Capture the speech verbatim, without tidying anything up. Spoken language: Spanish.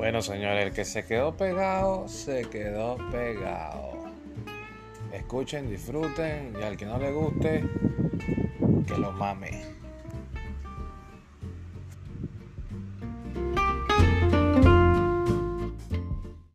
Bueno, señores, el que se quedó pegado, se quedó pegado. Escuchen, disfruten y al que no le guste, que lo mame.